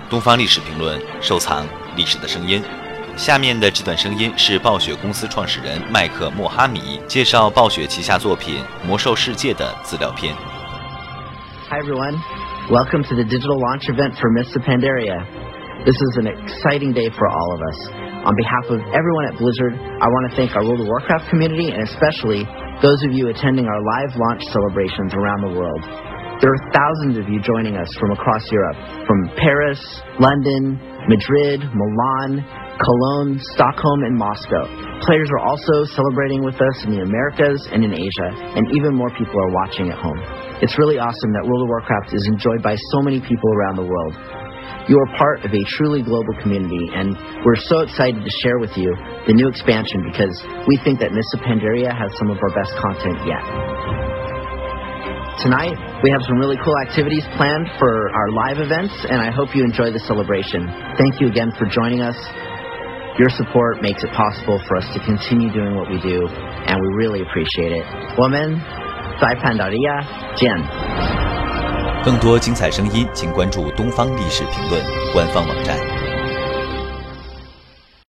东方历史评论，收藏历史的声音。下面的这段声音是暴雪公司创始人麦克莫哈米介绍暴雪旗下作品《魔兽世界》的资料片。 Hi everyone, welcome to the digital launch event for Mists of Pandaria. This is an exciting day for all of us. On behalf of everyone at Blizzard, I want to thank our World of Warcraft community and especially those of you attending our live launch celebrations around the world. There are thousands of you joining us from across Europe, from Paris, London, Madrid, Milan, Cologne, Stockholm, and Moscow. Players are also celebrating with us in the Americas and in Asia, and even more people are watching at home. It's really awesome that World of Warcraft is enjoyed by so many people around the world. You are part of a truly global community, and we're so excited to share with you the new expansion because we think that Mists of Pandaria has some of our best content yet. Tonight, we have some really cool activities planned for our live events, and I hope you enjoy the celebration. Thank you again for joining us. Your support makes it possible for us to continue doing what we do, and we really appreciate it. 我们在潘达利亚见。 更多精彩声音，请关注东方历史评论官方网站。